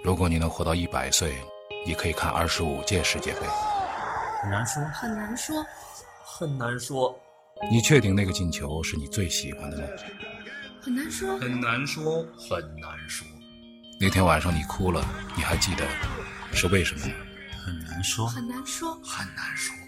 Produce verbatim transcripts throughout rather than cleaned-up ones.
如果你能活到一百岁，你可以看二十五届世界杯。 很难说， 很难说， 很难说。 你确定那个进球是你最喜欢的吗？ 很难说， 很难说，很难说。 那天晚上你哭了，你还记得是为什么吗？ 很难说， 很难说， 很难说。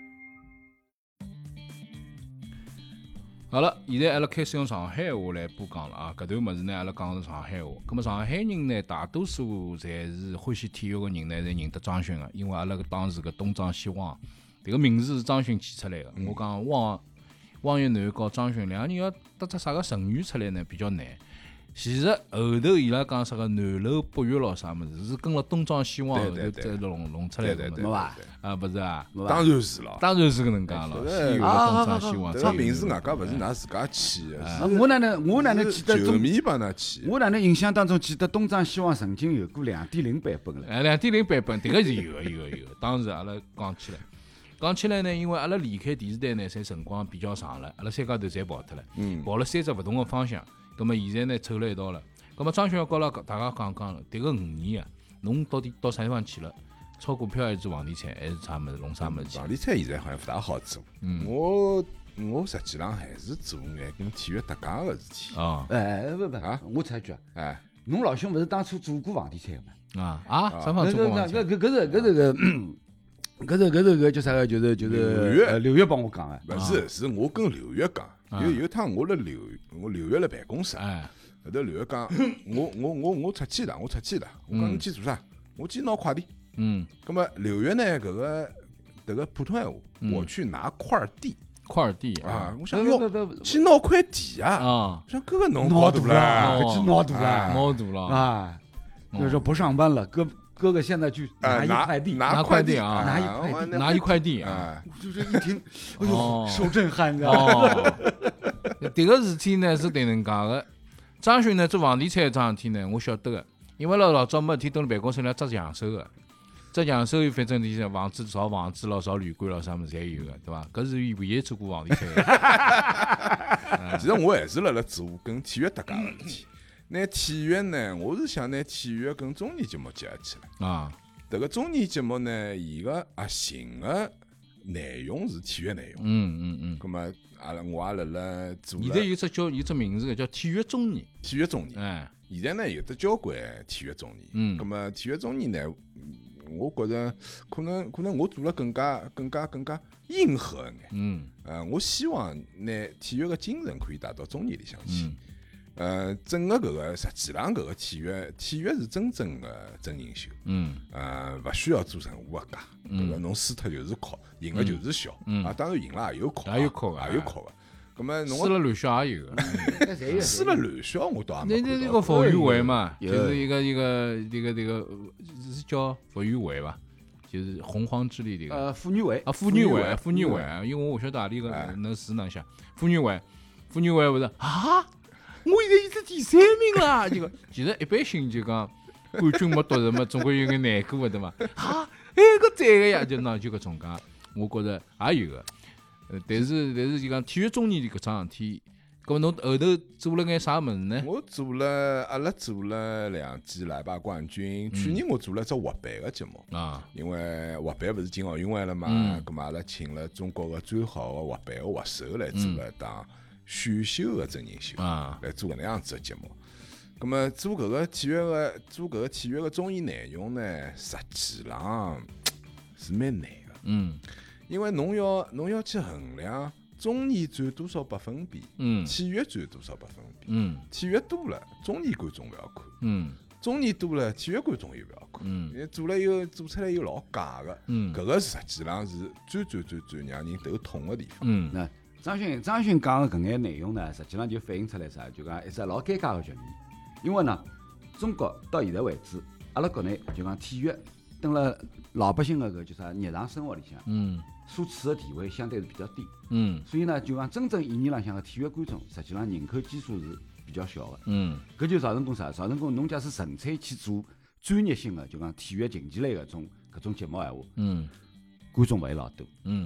好了，现在阿拉开始用上海话来播讲了啊！搿段物事呢，阿拉讲的是上海话。咁么上海人呢，大多数侪是欢喜体育个人呢，侪认得张勋个，因为阿拉个当时个东张西望，迭个名字是张勋起出来个。我讲汪汪岳南和张勋两个人要得出啥个成语出来呢，比较难。其实后头伊拉讲啥个南楼北岳咯啥物事，是跟了东张西望后头再弄弄出来个没伐？ 啊，勿是啊？ 当然是了， 当然是搿能介了。西岳东张西望， 这个名字外加勿是㑚自家起的， 我哪能我哪能记得球迷帮㑚起？ 我哪能印象当中记得东张西望曾经有过两点零版本了。 哎，两点零版本，迭个是有个有个有个。当时阿拉讲起来，讲起来呢，因为阿拉离开电视台呢，侪辰光比较长了，阿拉三家头侪跑脱了， 嗯， 跑了三只勿同个方向。葛么现在呢，凑了一道了。葛么张勋要告了大家讲讲，迭个五年啊，侬到底到啥地方去了？炒股票还是做房地产，还是啥物事弄啥物事去？ 房地产现在好像勿大好做。 嗯， 我我实际上还是做眼跟体育搭界个事体。 啊， 哎，不不啊， 我插一句， 哎， 侬老兄勿是当初做过房地产个嘛？ 啊啊，啥方做过房地产？ 搿搿搿是搿是个，搿是搿是个叫啥个？就是就是刘月刘月帮我讲个。 勿是，是我跟刘月讲，有有一趟我辣刘我刘月辣办公室。 哎。 后头刘月讲，我我我我出去了，我出去了。我讲你去做啥？我去拿快递。 嗯。 咁么刘月呢？搿个迭个普通闲话，我去拿块地。 块地啊！我想哟，去拿块地啊！ 啊！ 我想哥哥侬闹大了， 去闹大了， 闹大了啊！就是说不上班了，哥哥哥现在去拿一块地， 拿块地啊， 拿一块地， 拿一块地啊！ 就是一听，哎呦，受震撼的。 哦，迭个事体呢是迭能介个。张勋呢做房地产搿桩事体呢，我晓得个，因为老老早没事体蹲辣办公室里执强手个，执强手反正你像房子造房子咯，造旅馆咯，啥物事侪有个，对伐？搿是唯一做过房地产个。 其实我还是辣辣做跟体育搭界个事体。拿体育呢，我是想拿体育跟综艺节目结合起来。 啊， 迭个综艺节目呢，伊个核心个内容是体育内容。 嗯嗯嗯。 咁么，阿拉我也辣辣做。 现在有只叫有只名字个叫体育综艺。 体育综艺。 哎。 现在呢有得交关体育综艺。 嗯。 咁么体育综艺呢，我觉着可能可能我做了更加更加更加硬核一眼。 嗯。 呃，我希望拿体育个精神可以带到综艺里向去。 嗯。 呃，整个搿个实际上搿个体育，体育是真正的真人秀。 嗯。 呃，勿需要做任何个假，搿个侬输脱就是哭，赢了就是笑。 嗯。 啊，当然赢了也有哭， 也有哭， 也有哭个。咁么侬输了乱笑也有个。 输了乱笑我倒也没。 那那那个傅园慧嘛，就是一个一个一个这个是叫傅园慧吧，就是洪荒之力这个。 呃，傅园慧啊，傅园慧，傅园慧，因为我勿晓得何里个能字能写。傅园慧，傅园慧勿是啊。我现在已经第三名了，这个其实一般性就讲冠军没夺着嘛，总归有眼难过的对伐？啊，哎个赞个呀，就喏就搿种介，我觉着也有个。呃，但是但是就讲体育综艺搿桩事体，搿么侬后头做了眼啥物事呢？ 我做了，阿拉做了两季奶爸冠军。去年我做了只滑板个节目啊， 因为滑板勿是进奥运会了嘛，咁嘛阿拉请了中国个最好个滑板个滑手来做了一档。选秀个真人秀啊， 来做搿能样子个节目。咁么做搿个体育个做搿个体育个综艺内容呢，实际上是蛮难个。 嗯， 因为侬要侬要去衡量综艺占多少百分比， 嗯， 体育占多少百分比， 嗯， 体育多了，综艺观众勿要看， 嗯， 综艺多了，体育观众又勿要看， 嗯， 做了又做出来又老假个， 嗯， 搿个实际上是最最最最让人头痛个地方。 嗯， 那。张勋张勋讲的搿眼内容呢，实际上就反映出来啥？就讲一只老尴尬的局面。因为呢，中国到现在为止，阿拉国内就讲体育，登了老百姓的搿叫啥日常生活里向， 嗯， 所处的地位相对是比较低。 嗯， 所以呢，就讲真正意义浪向的体育观众，实际上人口基数是比较小的。 嗯， 搿就造成功啥？造成功侬假使纯粹去做专业性的，就讲体育竞技类的种搿种节目闲话， 嗯， 观众勿会老多。 嗯。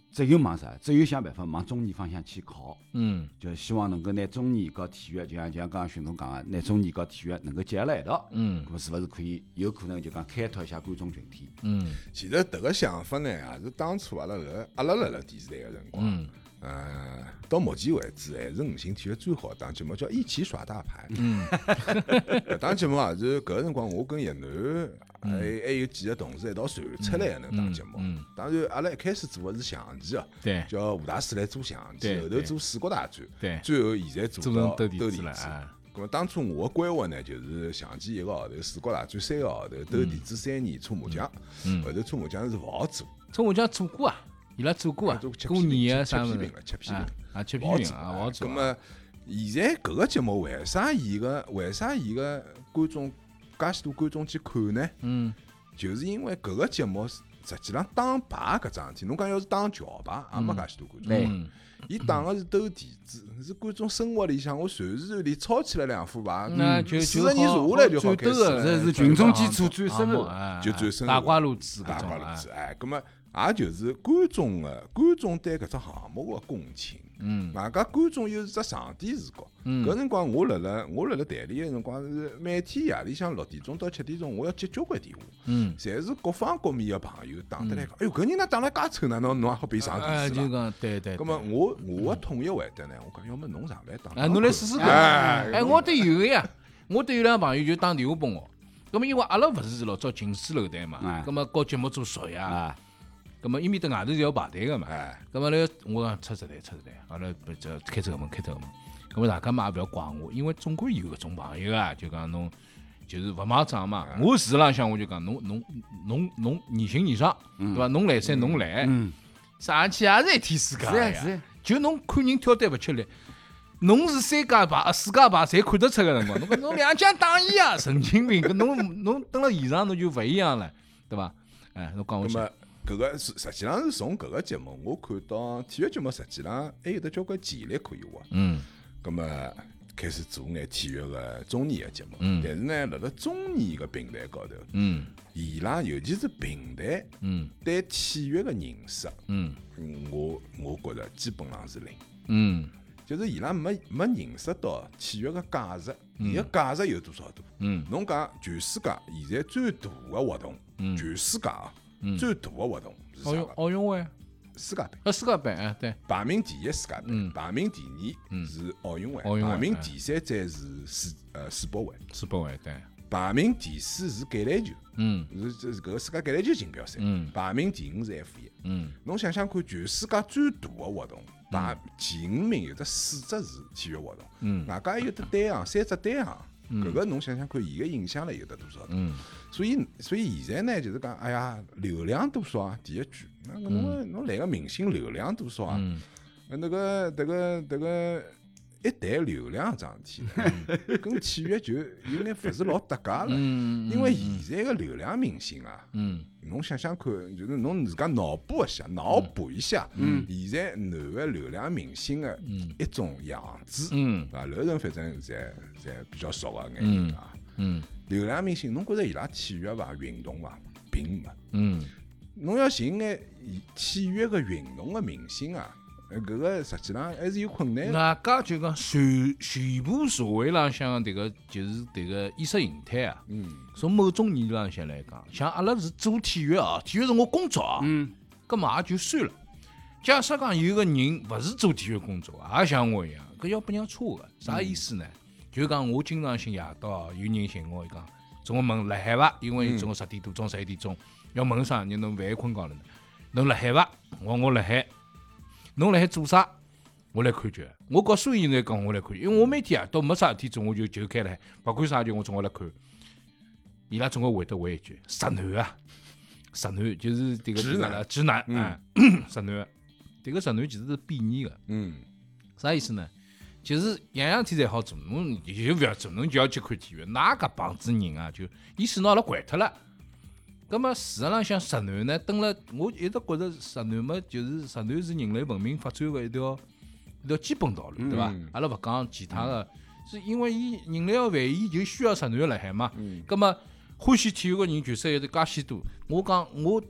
只有往啥？只有想办法往中艺方向去靠。 嗯， 就希望能够拿中艺和体育，就像就像刚刚徐总讲个，拿中艺和体育能够结合辣一道。 嗯， 咁么是勿是可以有可能就讲开拓一下观众群体？ 嗯， 其实迭个想法呢，也是当初阿拉搿阿拉辣辣电视台个辰光， 嗯， 呃，到目前为止还是五星体育最好档节目，叫《一起耍大牌》。 嗯， 搿档节目也是搿个辰光，我跟叶楠还还有几个同事一道传出来个能档节目。 嗯， 当然，阿拉一开始做个是象棋哦， 对， 叫吴大师来做象棋， 对后头做四国大战， 对， 最后现在做做到成斗地斗地主主了啊。 咁么当初我个规划呢，就是象棋一个号头，四国大战三个号头，斗地主三年，搓麻将。 嗯后头搓麻将是勿好做， 搓麻将做过啊，伊拉做过啊做， 过年啊啥物事吃批评了，吃批评啊了。 啊，吃批勿好做评啊，勿好做啊。 咁么现在搿个节目为啥伊个为啥伊个观众介许多观众去看呢？ 嗯就是因为搿个节目实际上打牌搿桩事体，侬讲要是打桥牌，也没介许多观众。 嗯伊打个是斗地主，是观众生活里向，我随时随地抄起来两副牌， 那就四十年下来就好开始了。 这是群众基础最深入啊， 就最深入大瓜路子大搿种啊瓜路子，哎，葛么也就是观众个观众对搿只项目个共情。 嗯外加观众又是只上帝视角， 嗯搿辰光我辣辣我辣辣台里个辰光是每天夜里向六点钟到七点钟，我要接交关电话， 嗯， 侪是各方各面个朋友打得来讲，哎哟，搿人哪打了介臭呢？侬侬也好变上哎，就电视了。 讲对对。 葛么我我个统一回答呢，我讲要么侬上来打， 哎，侬来试试看。 哎哎，我都有个呀，我都有两个朋友就打电话拨我。咁么因为阿拉勿是老早近水楼台嘛哎， 咁么搞节目做熟呀， 啊， 咁么伊面搭外头是要排队个嘛。 哎， 咁么呢，我讲出实台出实台，阿拉不这开这个门开这个门。咁么大家嘛也勿要怪我，因为总归有搿种朋友啊，就讲侬就是勿买账嘛。我事实浪向我就讲侬侬侬侬言行言上，对伐？侬来三侬来， 嗯， 上去也是一天世界是呀呀是呀。 就侬看人挑担勿吃力，侬是三家牌、四家牌，侪看得出个辰光。侬讲侬两家打一啊，神经病！搿侬侬蹲辣现场侬就勿一样了，对伐？哎，侬讲我去。 葛么搿个是实际上是从搿个节目，我看到体育节目实际上还有得交关潜力可以挖。 嗯葛么开始做眼体育个综艺个节目， 嗯但是呢，辣辣综艺个平台高头， 嗯伊拉尤其是平台嗯对体育个认识， 嗯嗯我我觉着基本上是零， 嗯就是伊拉没没认识到体育个价值，伊个价值有多少大？ 嗯侬讲全世界现在最大个活动， 嗯全世界啊嗯最大个活动是奥运啥个？ 奥运会， 世界杯。 啊世界杯，哎对， 排名第一世界杯， 嗯排名第二是奥运会， 奥运会排名第三才是世呃世博会， 世博会对， 排名第四是橄榄球， 嗯是这是搿个世界橄榄球锦标赛， 嗯排名第五是 F 一。 嗯侬想想看，全世界最大个活动，排前五名有得四只是体育活动， 嗯外加还有得单项，三只单项，搿个侬想想看，伊个影响力有得多少大？ 嗯所以，所以现在呢，就是讲，哎呀，流量多少啊？第一句，那个侬个侬来个明星流量多少啊？ 嗯呃那个迭个迭个一谈流量桩事体呢，跟体育就有眼勿是老搭界了。 嗯， 因为现在个流量明星啊， 嗯侬想想看，就是侬自家脑补一下，脑补一下，现在男个流量明星个一种样子， 嗯啊，楼人反正侪侪比较熟个眼人啊。 嗯流量明星，侬觉着伊拉体育伐、运动伐，并没。 嗯侬要寻眼体育个运动个明星啊，呃搿个实际上还是有困难的。 外加就讲全全部社会浪向迭个就是迭个意识形态啊， 嗯， 从某种意义浪向来讲，像阿拉是做体育啊，体育是我工作啊， 嗯， 搿么也就算了。假设讲有个人勿是做体育工作，也像我一样，搿要拨人家戳个，啥意思呢？就讲我经常性夜到啊，有人寻我，伊讲总归问辣海伐？因为总归十点多钟、十一点钟要问啥？人侬万一困觉了呢？侬辣海伐？我我辣海。侬辣海做啥？我来看剧。我告所有人来讲，我来看剧，因为我每天夜到没啥事体做，我就就开了海，勿管啥剧我总归来看。伊拉总归会得回一句：直男啊，直男就是迭个直男直男啊，直男。迭个直男其实是贬义个， 嗯， 啥意思呢？就是样样体侪好做，侬就勿要做，侬就要去看体育。哪搿帮子人啊，就意思拿阿拉惯脱了。咁么事实浪向直男呢，蹲了我一直觉着直男嘛，就是直男是人类文明发展个一条一条基本道路，对伐？ 嗯阿拉勿讲其他个，是因为伊人类个繁衍就需要直男辣海嘛。咁么欢喜体育个人确实有得介许多。我讲我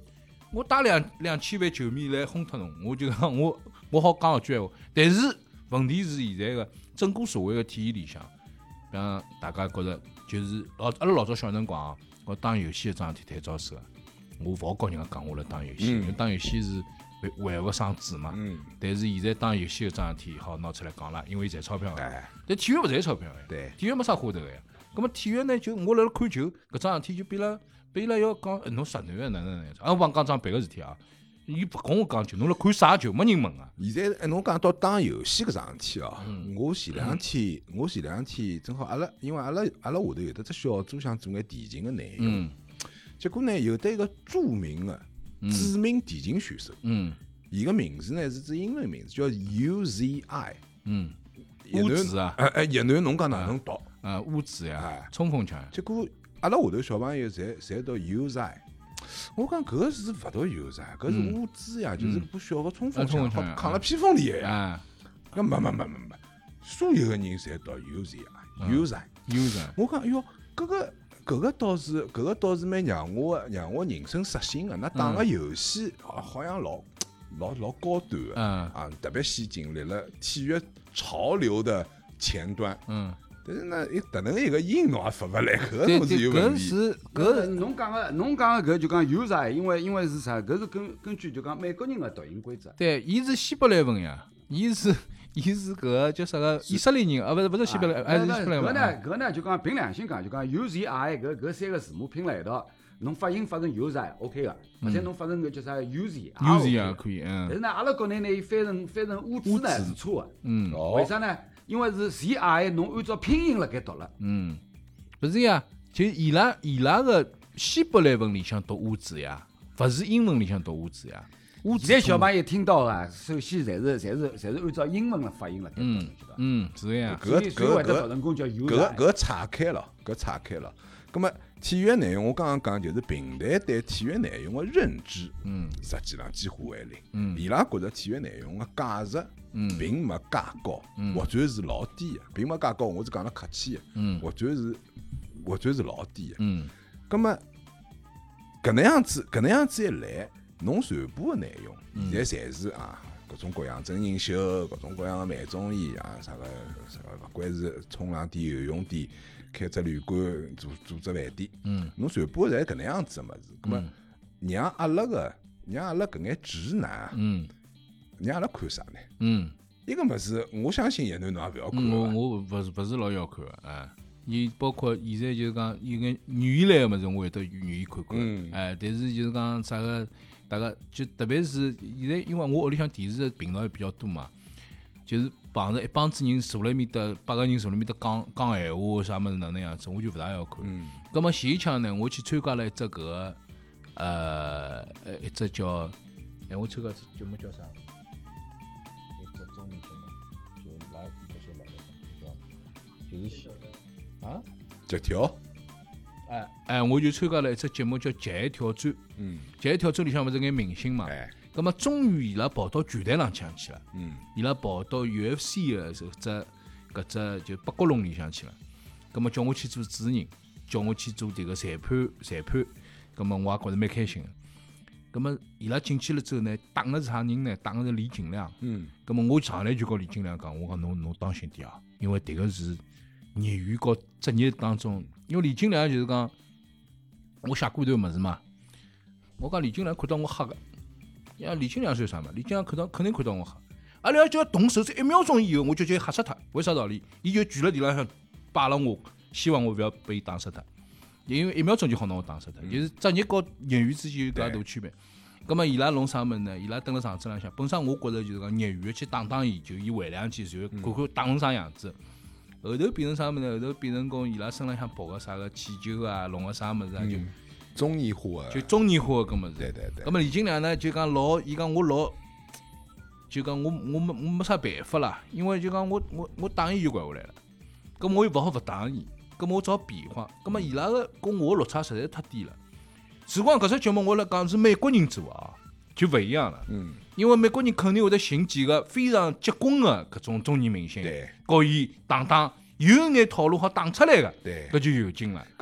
我打两两千万球迷来轰脱侬，我就讲我我好讲一句闲话。但是问题是现在个整个社会个体系里向，让大家觉着就是老阿拉老早小辰光，我打游戏搿桩事体太招手了。我勿好告人家讲我辣打游戏，因为打游戏是为为勿生子嘛。 嗯， 但是现在打游戏搿桩事体好拿出来讲了，因为赚钞票个。 哎， 但体育勿赚钞票个。 对， 体育没啥花头个呀。咁么体育呢，就我辣辣看球搿桩事体就变了，变了要讲侬实男个哪能哪能。啊，我帮讲桩别个事体啊，伊勿跟我讲球，侬辣看啥球？没人问啊。 现在哎，侬讲到打游戏搿桩事体哦， 嗯我前两天我前两天正好阿拉，因为阿拉阿拉下头有得只小组想做眼电竞个内容， 嗯结果呢有得一个著名个知名电竞选手， 嗯伊个名字呢是只英文名字叫 U Z I， 嗯， 一段乌子啊， 哎哎，一段侬讲哪能读？ 啊乌子呀哎， 冲锋枪。 结果阿拉下头小朋友侪侪读 U Z I。我讲搿个是勿读 U Z I，搿是乌兹呀，就是部小个冲锋枪， 啊冲锋枪好抗了披风里个呀。 啊搿没没没没没，所有个人侪读 U Z I，U Z I。 ，user， 我讲，哎哟，搿个搿个倒是搿个倒是蛮让我让我人生刷新个。那打个游戏好好像老老老高端个， 嗯啊，特别先进，立了体育潮流的前端。 嗯， 但是呢，一迭能一个音侬也发勿来，搿对侬是对，搿有问题。 是搿搿侬讲个侬讲个搿就讲 user，因为因为是啥？搿是根根据就讲美国人个读音规则。 对，伊是希伯来文呀，伊是伊是搿个叫啥个以色列人啊，勿是勿是希伯来，还是希伯来文。 搿呢搿呢就讲凭良心讲，就讲 U Z I 搿搿三个字母拼辣一道，侬发音发成 user OK 个，或者侬发成搿叫啥 U Z U Z 啊可以，嗯但是呢，阿拉国内呢，伊翻成翻成乌兹呢是错个。 嗯为啥呢？因为是 Z I， 侬按照拼音辣盖读了。 嗯，勿是呀，就伊拉伊拉个希伯来文里向读乌字呀，勿是英文里向读乌字呀。乌字现在小朋友听到啊，首先侪是侪是侪是按照英文的发音辣盖读， 嗯晓得伐？ 嗯是个呀， 所以搿所以会得搿读成功叫 U 搿个搿个岔开了，搿岔开了。葛么体育内容我刚刚讲就是平台对体育内容个认知， 嗯实际上几乎为零。 嗯伊拉觉着体育内容个价值嗯并没介高，或者是老低个，并没介高。我是讲了客气个， 嗯或者是或者是老低个。 嗯葛么搿能样子搿能样子一来，侬传播个内容嗯现在侪是啊各种各样真人秀，各种各样个慢综艺啊，啥个啥个，勿管是冲浪店、游泳店，开只旅馆、做做只饭店， 嗯侬传播侪搿能样子个物事，葛么让阿拉个让阿拉搿眼直男啊， 嗯让阿拉看啥呢？ 嗯一个物事，我相信叶囡侬也勿要看嗯，我个。 我勿是勿是老要看个，哎，伊包括现在就是讲有眼语言类个物事，我会得愿意看看， 嗯哎，但是就是讲啥个，大家就特别是现在，因为我屋里向电视个频道也比较多嘛，就是碰着一帮子人坐辣埃面搭，八个人坐辣埃面搭讲讲闲话啥物事哪能样子，我就勿大要看。 嗯咁么前一枪呢，我去参加了一只搿个呃呃一只叫，哎，我参加只节目叫啥？一只综艺节目，就来这些来的叫就是啊， 脚条， 哎哎，我就参加了一只节目叫《极限挑战》， 嗯， 《极限挑战》里向勿是眼明星嘛， 哎， 咁么终于伊拉跑到拳台上向去了， 嗯伊拉跑到 U F C 个搿只搿只就八角笼里向去了，咁么叫我去做主持人，叫我去做迭个裁判裁判，咁么我也觉着蛮开心个。咁么伊拉进去了之后呢，打个是啥人呢？打个是李景亮。 嗯咁么我上来就告李景亮讲，我讲侬侬当心点啊，因为迭个是业余和职业当中，因为李景亮就是讲我写过一段物事嘛，我讲李景亮看到我黑个，呀李景亮算啥嘛？李景亮看到肯定看到我黑，阿拉就要动手，只一秒钟以后我就就吓死他，为啥道理？伊就举了地浪向摆了我，希望我勿要被伊打死他。因为一秒钟就好拿我打死脱，就是职业和业余之间有介大区别。咁么伊拉弄啥物事呢？伊拉蹲辣场子浪向，本身我觉着就是讲业余去打打伊，就伊回两记，然后看看打成啥样子。后头变成啥物事呢？后头变成讲伊拉身浪向跑个啥个气球啊，弄个啥物事啊，就综艺化的， 就综艺化个搿物事。 对对对咁么李景亮呢，就讲老，伊讲我老，就讲我我没我没啥办法啦，因为就讲我我我打伊就怪下来了，咁我又勿好勿打伊。咁么我只好变化，咁么伊拉个跟我落差实在太低了。事关搿只节目，我来讲是美国人做啊，就勿一样了。 嗯， 因为美国人肯定会得寻几个非常结棍个搿种中年明星， 对， 告伊打打，有眼套路好打出来个， 对。 搿就有劲了。 咁么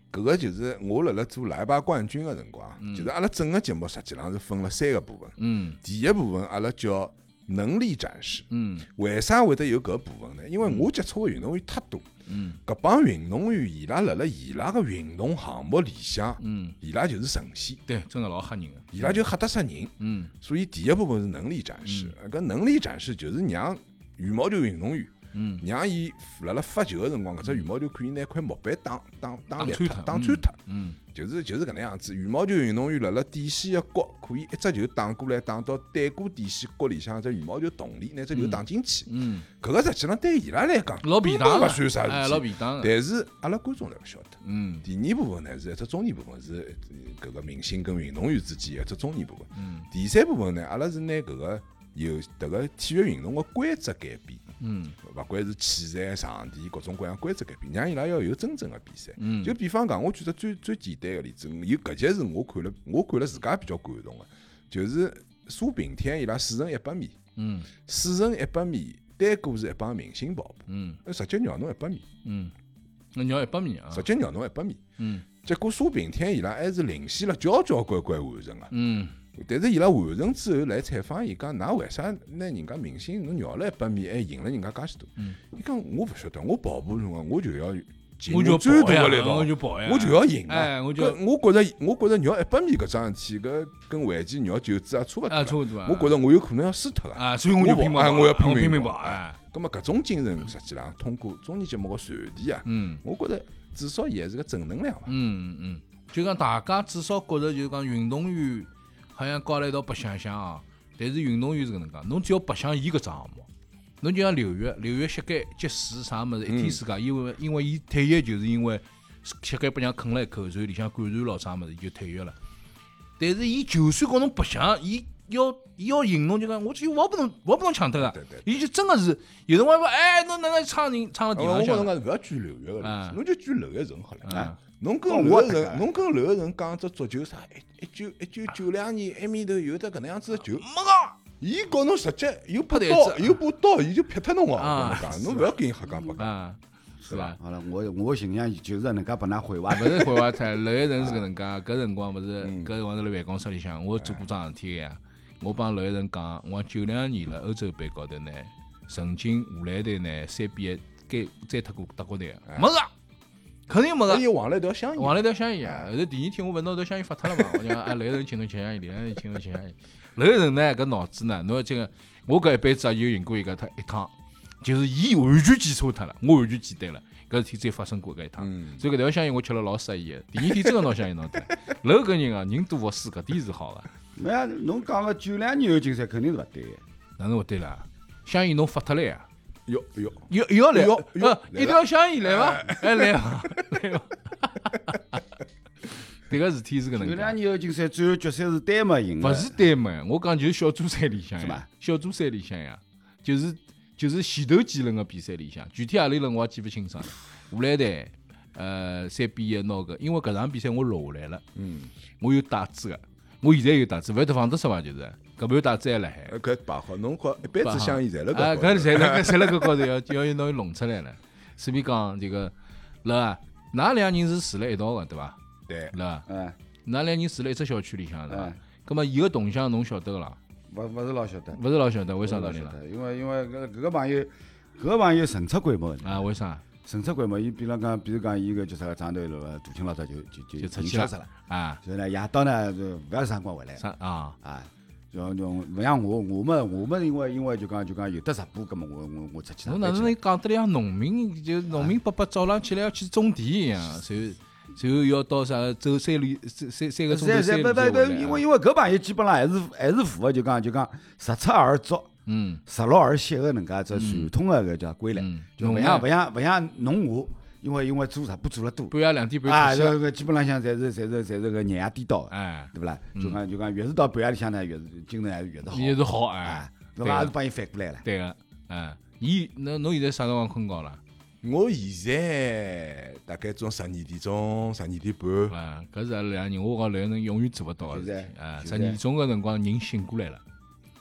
搿个就是我辣辣做奶爸冠军个辰光， 嗯就是阿拉整个节目实际上是分了三个部分。 嗯第一部分阿拉叫能力展示。 嗯为啥会得有搿部分呢？因为我接触个运动员太多， 嗯搿帮运动员伊拉辣辣伊拉个运动项目里向， 嗯， 伊拉就是神仙， 对，真个老吓人个。 伊拉就吓得死人。 嗯所以第一部分是能力展示，搿能力展示就是让羽毛球运动员。 嗯让伊辣辣发球个辰光，搿只羽毛球可以拿块木板打打打裂脱打穿脱， 打穿脱， 嗯就是就是搿能样子。羽毛球运动员辣辣底线个角，可以一只球打过来，打到对过底线角里向只羽毛球洞里，拿只球打进去。 嗯， 搿个实际上对伊拉来讲， 老便当个， 根本勿算哎， 啥事体。 老便当个。 但是阿拉观众侪勿晓得。 嗯第二部分呢是一只中间部分，是搿个明星跟运动员之间一只中间部分。 嗯第三部分呢，阿拉是拿搿个有迭个体育运动个规则改变。 嗯勿管是器材、场地各种各样规则改变，让伊拉要有真正的比赛。 嗯， 就比方讲，我举只最最简单个例子，有搿节是我看了，我看了自家比较感动个，就是苏炳添伊拉四乘一百米， 嗯四乘一百米单个是一帮明星跑步， 嗯直接绕侬一百米， 嗯，那你要一百米啊？ 直接绕侬一百米。 嗯结果苏炳添伊拉还是领先了交交关关完成个。 嗯但是伊拉完成之后来采访伊讲，㑚为啥拿人家明星侬绕了一百米，还赢了人家介许多？ 嗯伊讲我勿晓得，我跑步辰光我就要尽我就要最跑呀大个力道， 我就跑呀我就要赢啊！ 哎我就搿我觉着，我觉着绕一百米搿桩事体，搿跟围棋绕九子也差勿多啊， 啦。 差不多啊。 我觉着我有可能要输脱个。 啊，所以我就拼命跑， 我要拼我拼命跑命跑哎。 葛末搿种精神，实际上通过综艺节目个传递啊， 嗯我觉着至少也是个正能量伐。 嗯嗯，就讲大家至少觉着就是讲运动员好像搞了一道白相相啊，但是运动员是搿能介，侬只要白相伊搿只项目，侬就像刘越，刘越膝盖积水啥物事，一天世界，因为因为伊退役就是因为膝盖被人家啃了一口，然后里向感染咯啥物事，就退役了。但是伊就算跟侬白相，伊要伊要赢侬就讲，我就我不能我不能抢脱个对对， 伊就真个是有辰光说，哎，侬哪能唱人唱到地我方向？ 觉着讲勿要举刘越个例啊子，侬就举娄艺晨好了。 啊啊侬跟哦娄我这个艺晨，侬跟娄艺晨讲只足球啥？一一九一九九两年埃面头有得搿能样子个球， 没个。 伊告侬直接有把拍刀， 台子有把刀，伊就劈脱侬哦！ 啊我跟侬讲，侬勿要跟伊瞎讲八讲。 啊，是吧？ 好了，我我形象就是搿能介把㑚毁坏勿是毁坏脱，娄艺晨是搿能介，搿辰光勿是嗯搿辰光是辣办公室里向，我做过桩事体个呀。我帮娄艺晨讲，我九两年辣欧洲杯高头呢，曾经荷兰队呢三比一该追脱过德国队个，没个，肯定没个。 伊往了一条香烟， 往了一条香烟啊！后头第二天我勿是拿条香烟发脱了嘛？我讲啊，娄艺晨请侬吃香烟，娄艺晨请侬吃香烟。娄艺晨呢搿脑子呢，侬要这个，我搿一辈子啊就赢过一个他一趟，就是伊完全记错脱了，我完全记对了，搿事体只有发生过搿一趟。 嗯， 所以搿条香烟我吃了老适意个，第二天真个拿香烟拿脱。娄搿人啊，人多勿输，搿点是好个。 没呀，侬讲个九两年后竞赛肯定是勿对个。 哪能勿对啦？香烟侬发脱了呀？ 哟哟， 又又要来， 哟哟呃，一条香烟来伐？哎来伐？来伐？迭个事体是搿能九两介， 年后竞赛最后决赛是丹麦赢的， 勿是丹麦，我讲就是小组赛里向呀是吧， 小组赛里向呀，就是就是前头几轮个比赛里向，具体何里轮我也记勿清爽了。荷兰队呃三比一拿搿，因为搿场比赛我录下来了， 嗯， 我有带子个，我现在有带子，勿晓得放得失伐？就是搿盘带子还辣海。 呃搿摆好，侬好一辈子香烟侪辣啊， 搿高头。 搿侪辣搿侪辣搿高头要要要拿伊弄出来了。随便讲这个，辣啊，㑚两人是住辣一道个对伐？ 对， 辣， 哎㑚两人住辣一只小区里向是伐哎？ 葛末伊个动向侬晓得个啦？ 勿勿是老晓得， 勿是老晓得，为啥道理啦？ 勿是老晓得因为因为搿搿个朋友，搿个朋友神出鬼没的， 啊，为啥？ 神出鬼没，伊比如讲，比如讲，伊个叫啥个长头路个大清老早就就就就出去了已经消失了， 啊， 所以呢，夜到呢就勿要辰光回来了啥啊？ 啊。像像勿像我，我们我们因为因为就讲就讲有得直播，葛么我我我出去上班去了。 侬哪能讲得来像农民，就农民伯伯早浪起来要去种地一样，随随后要到啥走三里三三三个钟头是是， 三里不不不， 再回来因为因为搿朋友基本上还是还是符合就讲就讲实出而作， 嗯实录而写个能介只传统个搿叫规律， 嗯， 就勿像勿像勿像侬我，因为因为做直播做了多半夜两点半啊， 出去了， 这个基本浪向侪是侪是侪是个日夜颠倒个， 哎， 对勿啦？就讲就讲越是到半夜里向呢，越是精神还是越是好， 也是好哎啊，，对伐？也是帮伊反过来了。 对个，哎，伊侬侬现在啥辰光困觉啦？ 我现在大概从十二点钟、十二点半， 啊，搿是阿拉两个人，我讲两个人永远做勿到个事体现在啊！十现在二点钟个辰光人醒过来了，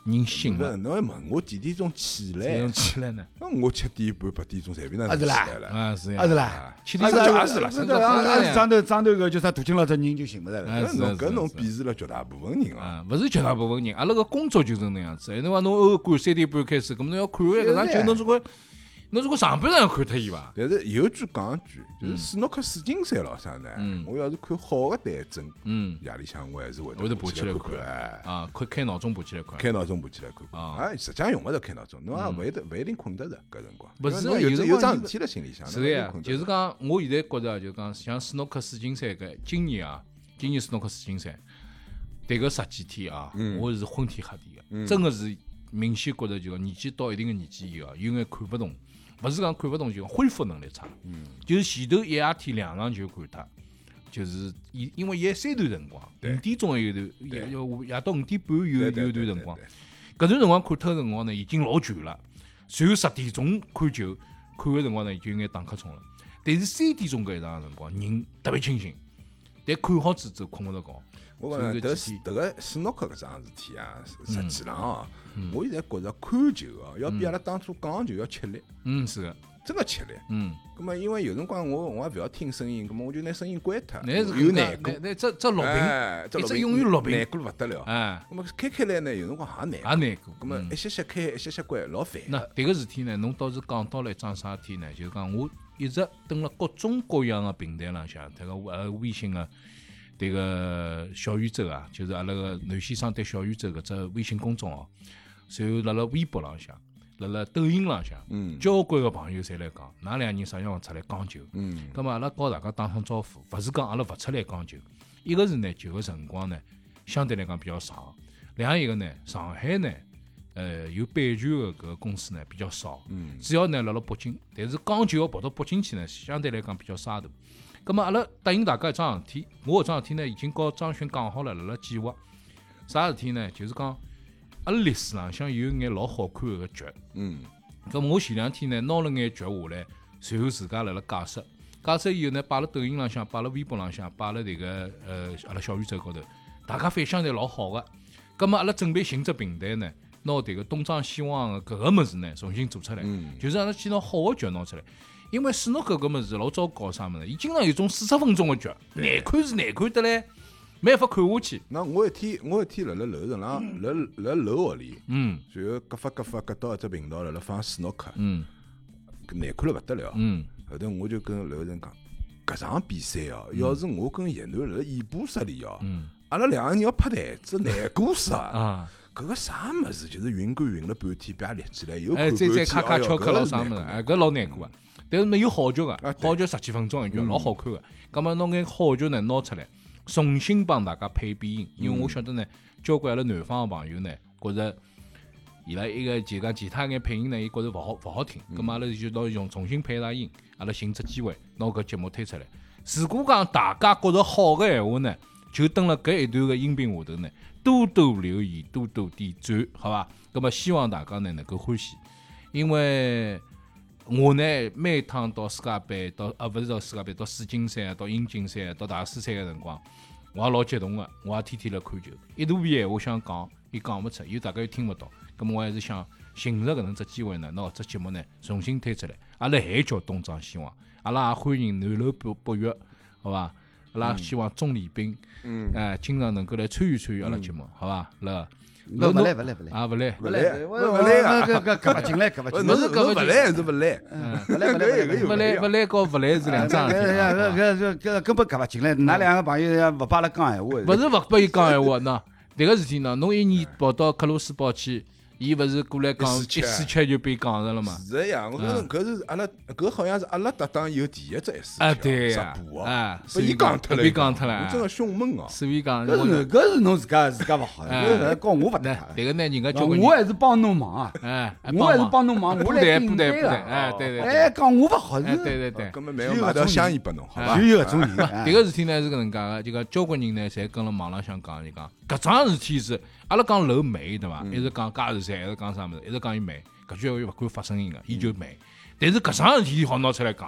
人醒不是， 了， 侬还问我几点钟起这来种？起来呢？ 那我七点半八点钟随便哪能起啊是啦来了。 啊是呀， 啊是啦， 七点钟啊是啊是啦是的，啊啊是上头上头个叫啥大金老只人就寻勿着了。 哎是搿侬搿侬是是鄙视了绝大部分人啊！ 啊，勿是绝大部分人，阿拉个工作就是那样子。哎，侬讲侬偶尔赶三点半开始，咁侬要看完搿场球，侬总归侬如果上半场要看脱伊伐？ 但是有句讲一句，就是斯诺克世锦赛咾啥呢？我要是看好个对阵， 嗯， 夜里向我还是会会得爬起来看看哎， 啊，开开闹钟爬起来看。 开闹钟爬起来看看。 啊哎，实际上用勿着开闹钟，侬也勿一定勿一定困得着搿辰光。 不是因为侬有有辰光你有桩事体辣心里向， 是的呀，就是讲讲，我现在觉着就讲，像斯诺克世锦赛搿今年啊，今年斯诺克世锦赛，迭个十几天啊，我是昏天黑地个，真个是明显觉着就讲年纪到一定个年纪以后，有眼看勿懂，勿是讲看勿懂，就讲恢复能力差。就是前头一夜天两场就看脱，就是伊因为伊还三段辰光，五点钟还有段，夜夜到五点半有有段辰光，搿段辰光看脱个辰光呢，已经老全了。随后十点钟看球，看个辰光呢，就有眼打瞌冲了。但是三点钟搿一场辰光，人特别清醒，但看好子之后困勿着觉。 我讲迭是迭个斯诺克搿桩事体啊，实际上啊，我现在觉着看球哦，要比阿拉当初讲球要吃力， 嗯，是个， 真个吃力。 嗯， 咁么因为有辰光我我也勿要听声音，咁么我就拿声音关脱， 那是有难过那，那这这录哎， 屏，一直永远录难屏， 过了勿得了。 哎， 咁么开开来呢，有辰光也难也过， 难过。 咁么一歇歇开，一歇歇关，老烦。 那迭个事体呢，侬倒是讲到了一桩啥事体呢？就是讲我一直登了各种各样的平台浪向，迭个呃微信个迭个小宇宙啊，就是阿拉个南先生对小宇宙搿只微信公众号，随后辣辣微博浪向，辣辣抖音浪向， 嗯交关个朋友侪来讲，㑚两人啥辰光出来讲球？ 嗯， 咁么阿拉告大家打声招呼，勿是讲阿拉勿出来讲球，一个是呢球个辰光呢相对来讲比较长，另外一个呢上海呢。呃，有版权个搿个公司呢比较少， 嗯主要呢辣辣北京，但是讲球要跑到北京去呢，相对来讲比较沙头。咁么阿拉答应大家一桩事体，我搿桩事体呢已经告张轩讲好了，辣辣计划。啥事体呢？就是讲阿拉历史浪向有眼老好看个剧， 嗯咁我前两天呢拿了眼剧下来，随后自家辣辣解释，解释以后呢摆辣抖音浪向，摆辣微博浪向，摆辣迭个呃阿拉小宇宙高头，大家反响侪老好个。咁么阿拉准备寻只平台呢？拿迭个东张西望个搿个物事呢，重新做出来， 嗯就是阿拉去拿好个剧拿出来。因为斯诺克搿物事老早搞啥物事，伊经常有种四十分钟个剧，难看是难看得来，没法看下去。 那我一天我一天辣辣楼层浪，辣辣楼学里， 嗯然后各发各发各到一只频道辣辣放斯诺克， 嗯搿难看了勿得了。 嗯后头我就跟楼层讲，搿场比赛哦，要是我跟叶楠辣辣演播室里哦， 嗯阿拉两个人要拍台子难过死啊！ 啊， 搿个啥物事，就是云管云了半天，别立起来又看哎，再半天， 再咔咔哎哟敲敲了搿啥物事， 是难过哎，搿老难过个。但是没有好剧个， 啊对好剧十几分钟一剧，老好看个。葛末拿眼好剧呢拿出来，重新帮大家配变音，因为我晓得呢，交关阿拉南方个朋友呢，觉着伊拉一个就讲其他眼配音呢，伊觉着勿好勿好听，葛末阿拉就拿用重新配一下音，阿拉寻只机会拿搿节目推出来。如果讲大家觉着好个闲话呢，就蹲辣搿一段个音频下头呢，多多留言，多多点赞，好伐？葛末希望大家呢能够欢喜，因为我呢每趟到世界杯，到啊勿是到世界杯，到世锦赛啊，到英锦赛啊，到大师赛个辰光，我也老激动个，我也天天辣看球。一大片闲话想讲，伊讲勿出，又大家又听勿到，葛末我还是想寻着搿能只机会呢，拿搿只节目呢重新推出来。阿拉还叫东张西望，阿拉也欢迎南楼北北约，好伐？阿拉希望钟礼斌， 嗯哎，经常能够来参与参与阿拉节目，好伐？辣勿勿来勿来勿来， 啊，勿来， 勿来， 勿勿来啊！ 搿搿搿勿进来，搿勿勿进来。 是勿来还是勿来？ 勿来勿来勿来勿来勿来和勿来是两桩事体。 搿搿搿搿根本搿勿进来，㑚两个朋友要勿帮阿拉讲闲话。 勿是勿拨伊讲闲话，喏，迭个事体呢，侬一年跑到克罗斯堡去，伊勿是过来讲一一四七四七就被讲着了嘛？ 是个呀，我搿搿是阿拉搿好像是阿拉搭档有第一只 S 啊，对呀直，播啊， 被伊讲脱了， 被讲脱了， 我真个凶猛哦！ 所以讲， 搿是侬搿是侬自家自家勿好， 哎搿跟我勿搭那嘎。 迭个呢，人家交关我人， 还是帮侬忙啊， 哎， 我还是帮侬忙，我不来顶对不对不对， 个。 哎，对对哎， 对， 讲我勿好， 哎， 是对对对。 根本没有买条香烟拨侬，好伐？ 就有搿种人。 迭个事体呢是搿能介个，就讲交关人呢，侪跟辣网浪向讲，就讲搿桩事体是阿拉讲楼美对伐？一直讲加时赛，一直讲啥物事，一直讲伊美，搿句闲话勿敢发声音个，伊就美。但是搿桩事体好拿出来讲，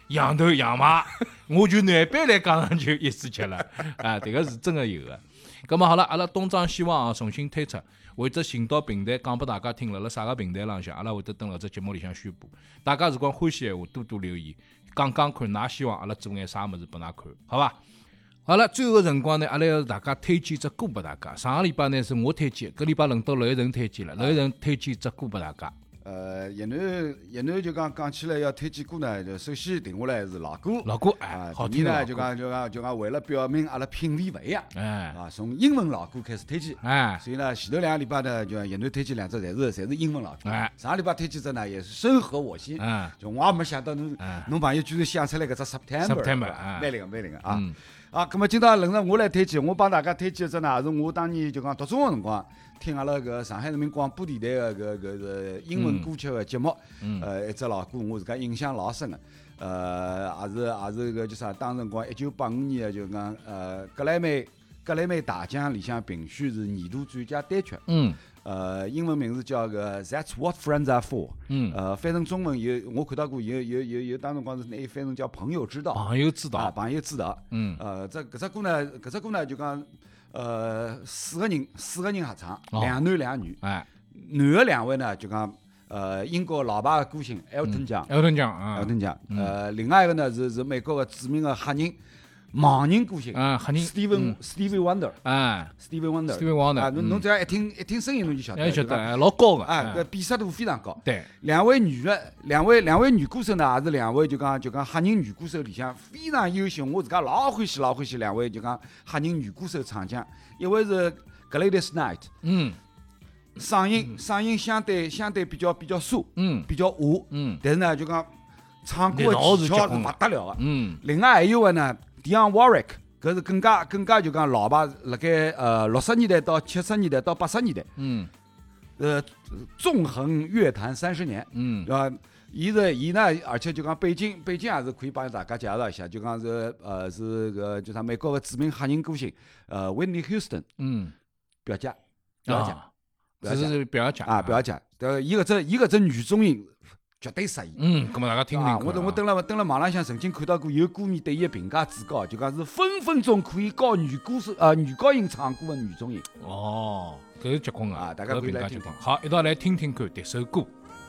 羊头羊马，我就难办来讲上就一次吃了啊！这个是真的有的。咁么好了，阿拉东张西望啊，重新推出，会得寻到平台讲拨大家听，辣辣啥个平台浪向，阿拉会得登辣只节目里向宣布。大家如果欢喜闲话，多多留言，讲讲看，㑚希望阿拉做眼啥物事拨㑚看，好伐？好了，最后个辰光呢，阿拉要大家推荐只歌拨大家。上个礼拜呢是我推荐，搿礼拜轮到娄一晨推荐了，娄一晨推荐只歌拨大家。 呃，叶南叶南就讲讲起来要推荐歌呢，就首先定下来是老歌， 老歌啊哎，，好第二呢听的老歌就讲就讲就讲为了表明阿拉品味勿一样， 哎啊，从英文老歌开始推荐， 哎所以呢前头两个礼拜呢，就叶南推荐两只，侪是侪是英文老歌， 哎上个礼拜推荐只呢也是深合我心， 嗯就我也没想到侬嗯侬朋友居然想出来搿只 September， September， 啊哎蛮灵个蛮灵个啊嗯。 啊，咁么今朝轮到我来推荐，我帮大家推荐一只呢，是我当年就讲读中学辰光听阿拉搿上海人民广播电台个搿搿个英文歌曲个节目， 嗯呃，一只老歌，我自家印象老深个，呃，也是也是搿叫啥？当辰光一九八五年个就讲呃格莱美格莱美大奖里向评选是年度最佳单曲， 嗯呃，英文名字叫个 That's What Friends Are For， 嗯， 呃，翻成中文有我看到过有有有有当辰光是拿伊翻成叫朋友之道。 朋友知啊， 道， 朋友知道。 嗯呃，这搿只歌呢，搿只歌呢就讲，呃，四个人，四个人合唱， 哦两男两女。 哎， 男的两位呢就讲，呃，英国老牌的歌星 Elton John，Elton 艾顿奖啊， John。呃，另外一个呢是是美国的著名的黑人盲人歌星啊黑人 Stephen Stevie Wonder。 哎 Stevie Wonder。 Stevie Wonder， 啊，侬嗯侬只要一听一听声音侬就晓得。 要晓得， 就讲哎老高个， 啊，搿哎辨识度非常高。 对， 两位女的，两位两位女歌手呢，也是两位就讲就讲黑人女歌手里向非常优秀，我自家老欢喜老欢喜两位就讲黑人女歌手唱将，一位是 Gladys Knight， 嗯嗓音嗓音相对相对比较比较酥， 嗯比较和， 嗯但是呢就讲唱歌力道的技巧是是结棍的勿得了的。 嗯另外还有个呢 Dionne Warwick，搿是更加更加就讲老牌，辣盖呃六十年代到七十年代到八十年代， 嗯呃纵横乐坛三十年。 嗯对伐？伊是伊呢，而且就讲背景背景也是可以帮大家介绍一下，就讲是呃是个就啥美国个著名黑人歌星呃 Whitney Houston 嗯， 表姐表姐啊，这是表姐啊表姐，呃伊搿只伊搿只女中音绝对适意。 嗯，咁么大家听听啊！ 看我我登了登了网浪向曾经看到过有歌迷对伊个评价之高，就讲是分分钟可以教女歌手呃女高音唱歌个女中音。 哦，搿是结棍个啊大家搿可以来听评价结棍。好，一道来听听看迭首歌。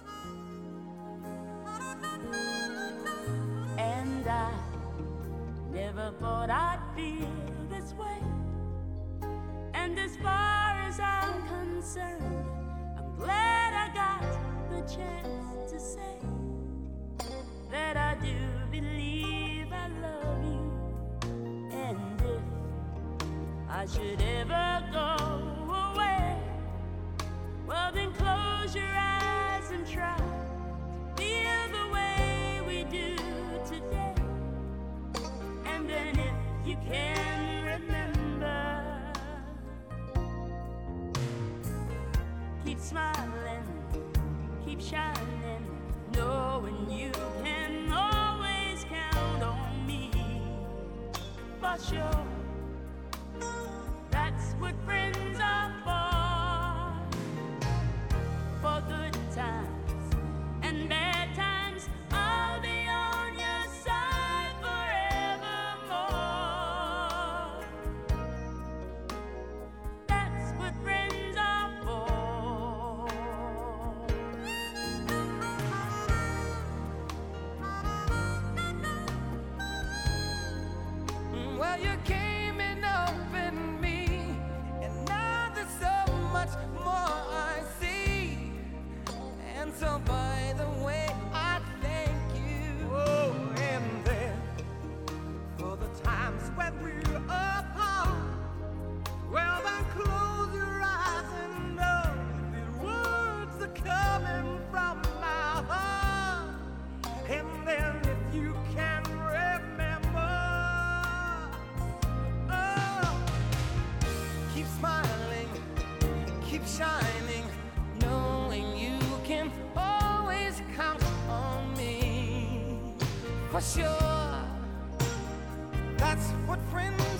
And I never thought I'd feel this way. And as far as I'm concerned, I'm glad I got the chance to say that I do believe I love you. And if I should ever go away, well then close your eyes and try to feel the way we do today. And then if you can remember, keep smiling, keep shining, knowing you can always count on me. For sure, that's what friends are for. For good times and bad times, I'll be on your side forevermore. That's what friends are for. Well, you came in up in me, and now there's so much more I see. And so, by the way, I thank you. Oh, and then for the times when we're apart, well, then close your eyes and know the words are coming from my heart. And then if you can remember, oh, keep smiling, keep shining, knowing you can always count on me. For sure, that's what friends